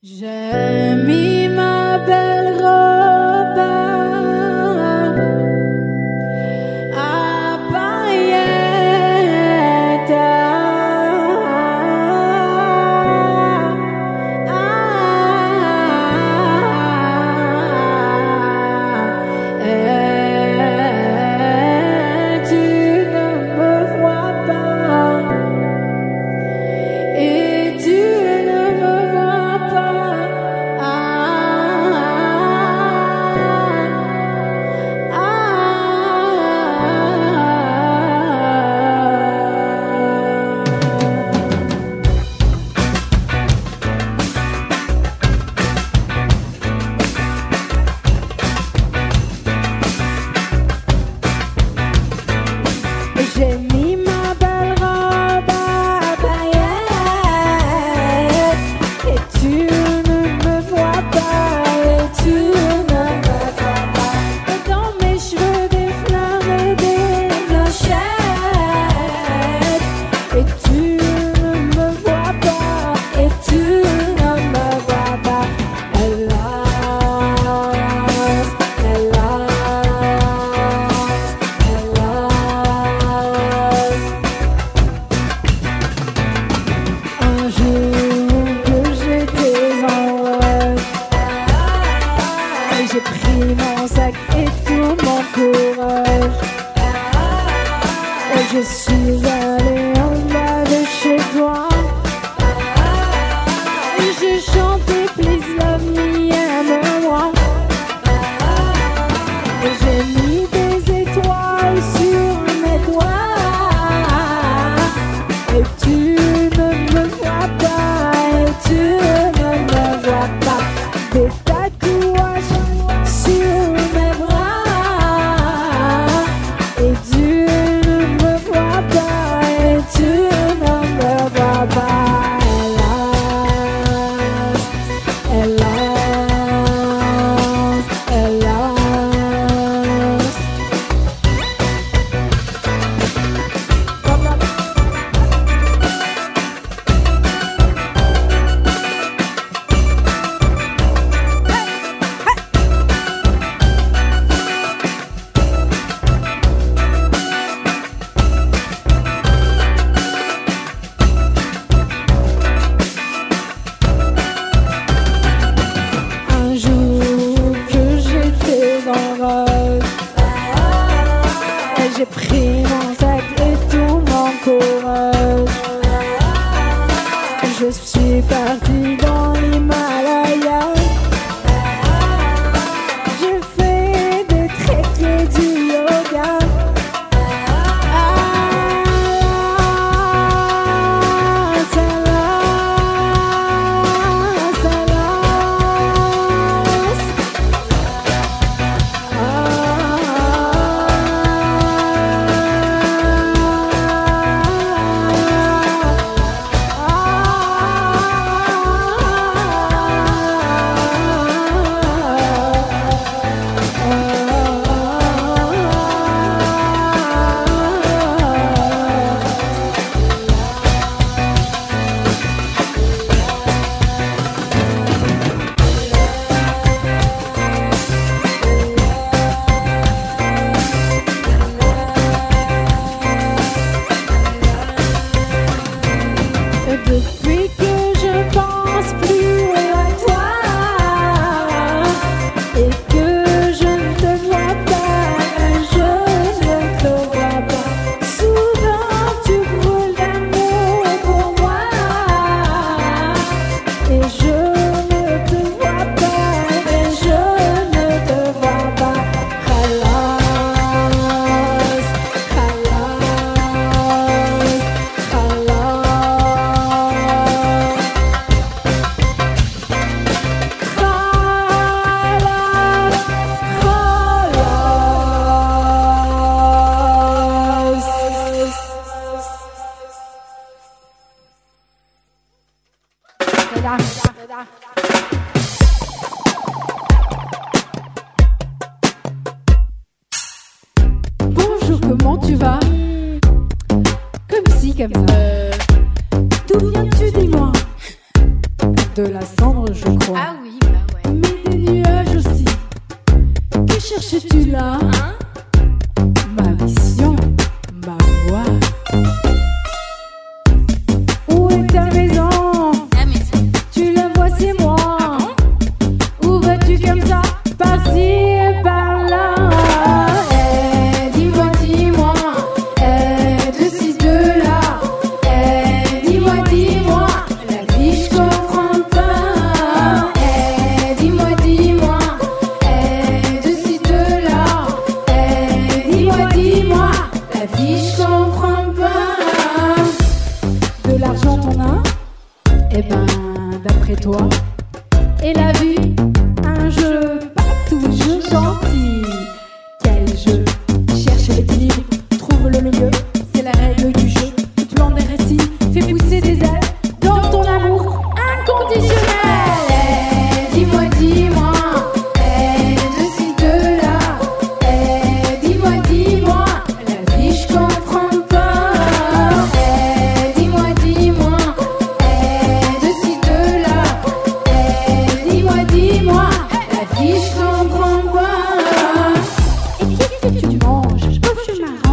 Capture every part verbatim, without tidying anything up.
J'ai mis ma belle robe à paillettes, et tu ne me vois pas, et tu ne me vois pas. J'ai mis ma belle robe à paillettes, et tu ne me vois pas, et tu ne me vois pas. Et dans mes cheveux des fleurs et des clochettes, et tu ne me vois pas, et tu ne me vois pas. Hélas, hélas, hélas. Un jour que j'étais en rêve, j'ai pris mon sac et tout mon courage, et je suis allée en bas de chez toi, et j'ai chanté Please love me, aime-moi, et j'ai mis des étoiles sur mes doigts, et tu ne me vois pas, et tu ne me vois pas. Des tatouages sur mes bras, et tu ne me vois pas, et tu ne me vois pas. Hélas, hélas, un jour que j'étais dans le rêve, et j'ai pris mon sac et tout mon courage, je suis partie dans l'Himalaya, j'ai fait des treks et du yoga. Hélas, hélas, hélas. Depuis que je pense plus à toi, et que je ne te vois pas, je ne te vois pas. Souvent tu brûles d'amour pour moi, et je ne te vois pas, et je ne te vois pas. Hélas, hélas, bonjour, comment tu vas? Comme si, comme ça. D'où viens-tu, dis-moi? De la cendre je crois. Ah oui, bah ouais. Mais des nuages aussi. Que cherches-tu là? Hein? Ma vision, ma voix. Où est ta maison? La maison. Tu la vois, c'est moi. Ah bon? Où vas-tu comme ça? Par-ci et par-là. Eh, dis-moi, dis-moi. Eh, de ci, de là. Eh, dis-moi, dis-moi. La vie, je comprends pas. Eh, dis-moi, dis-moi. Eh, de ci, de là. Eh, dis-moi, dis-moi. La vie, je comprends pas. De l'argent, t'en as? Eh ben, d'après toi. Et la vie, un jeu pas toujours gentil. Quel jeu? Cherche l'équilibre, trouve le milieu. C'est la règle du jeu. Tu te lances des récits, fais pousser des ailes dans ton amour inconditionnel. Eh, dis-moi, dis-moi. Eh, de ci, de là. Eh, dis-moi, dis-moi. La vie, je comprends pas. Eh, dis-moi, dis-moi. Eh, de ci, de là. Eh, dis-moi, dis-moi. La vie, je comprends pas. Et qu'est-ce que tu manges? Cauchemar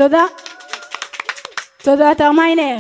תודה. תודה, טרמיינר.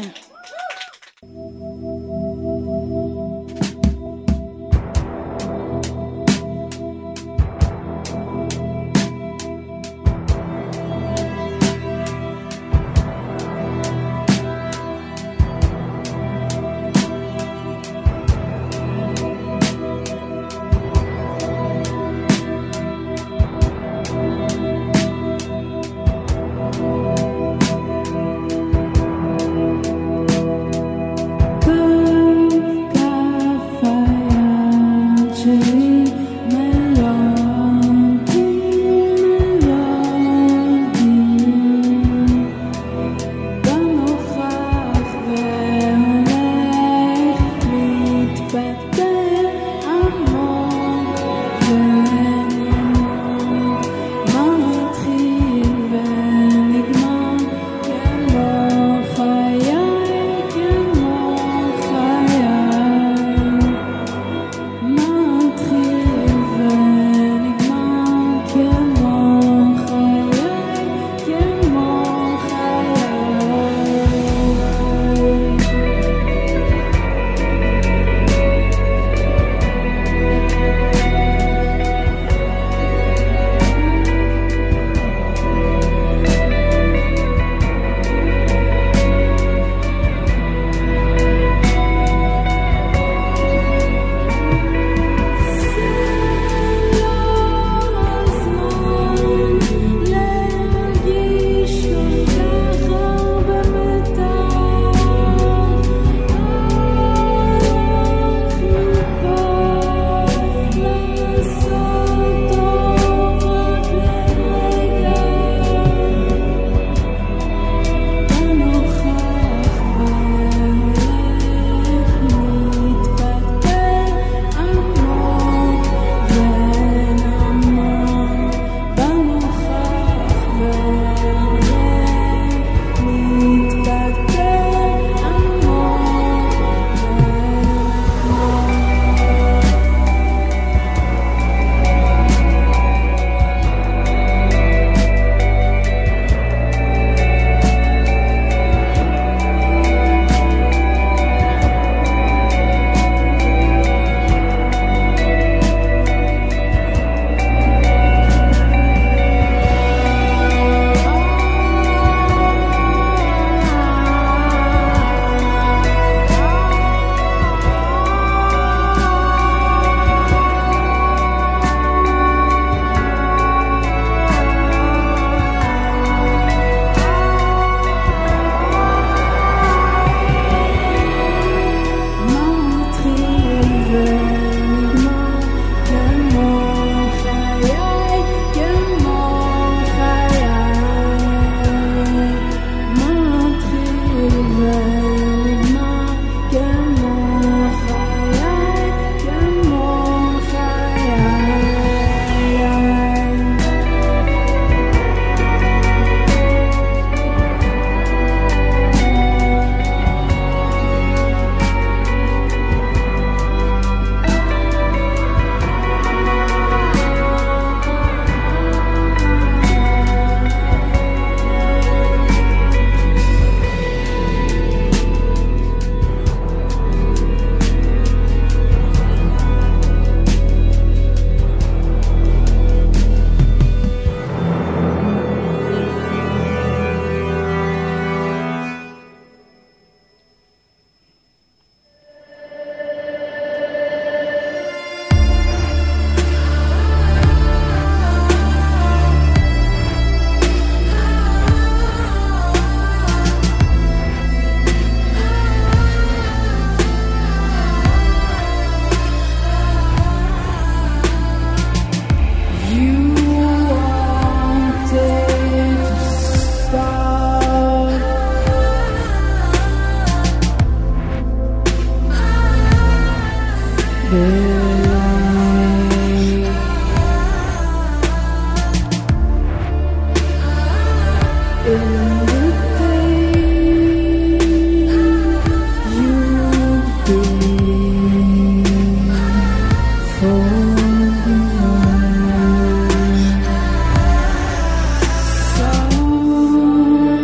So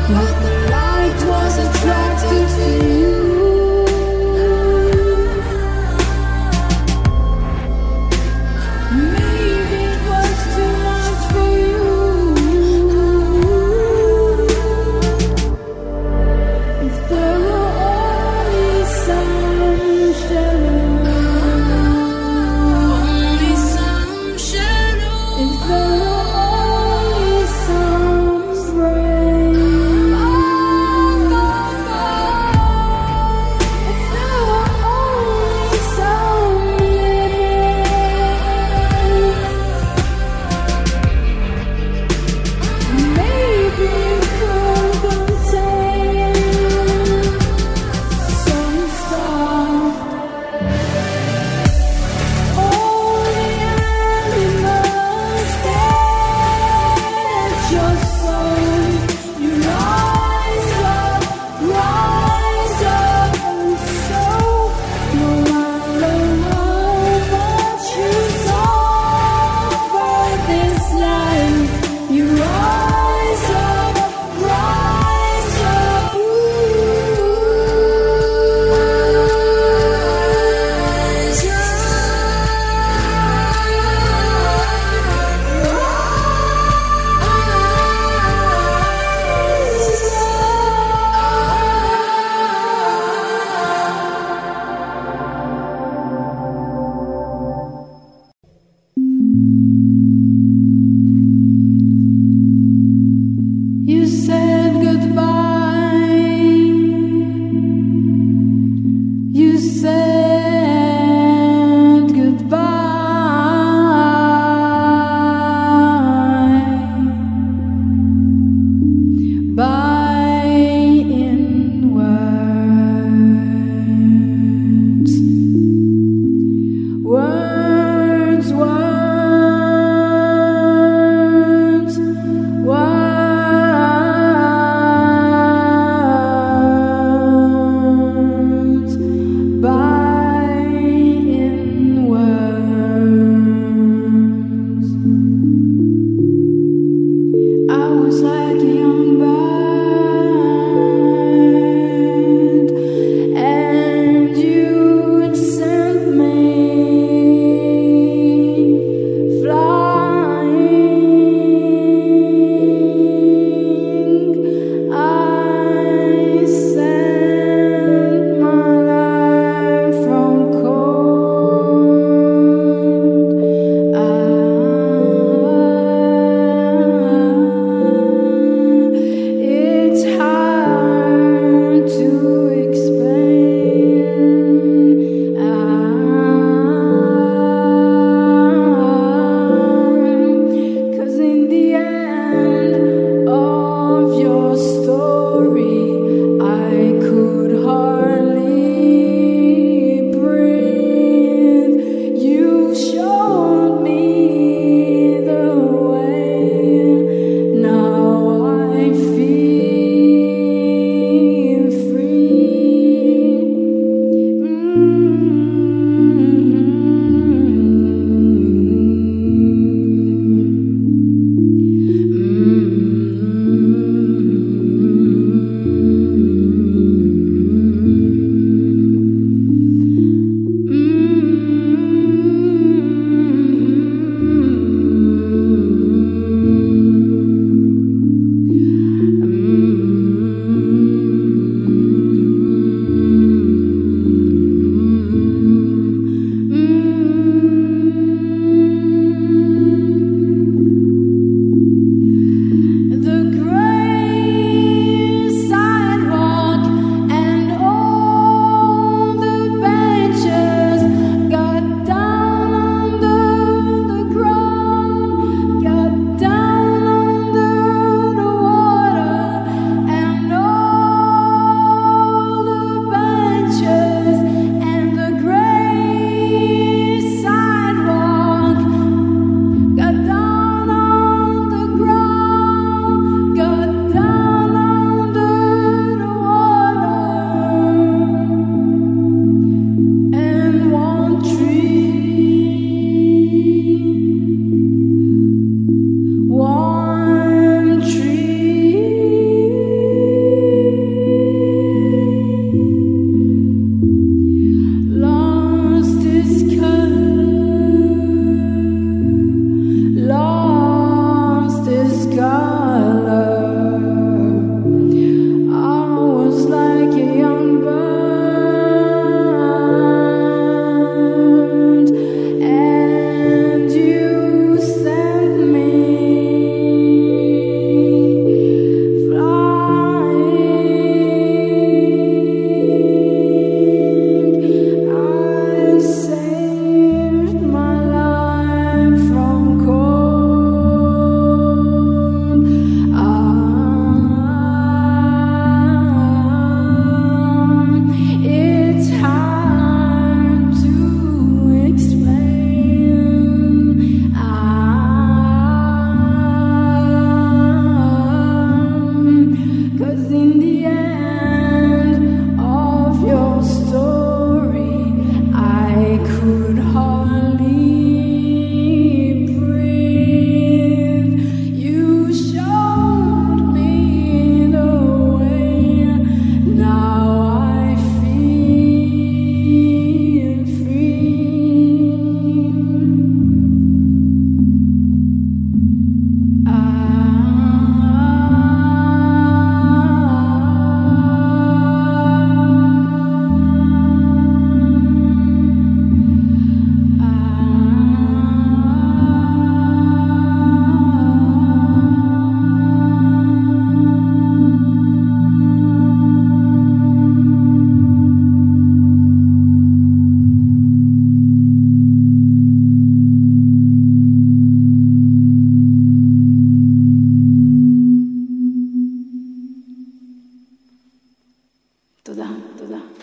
but the light was attracted to you. Maybe it was too much for you. If there were only some shadows, only some shadows. If there were only some rain, if there were only some living, maybe it could contain some stuff. All the animals at your soul. You rise up, rise up and show. No matter how much you suffer this life, you rise up, rise up. Rise You said goodbye. You said goodbye. By in words, words, words, words. By in words. I was like a young bird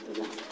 Voilà.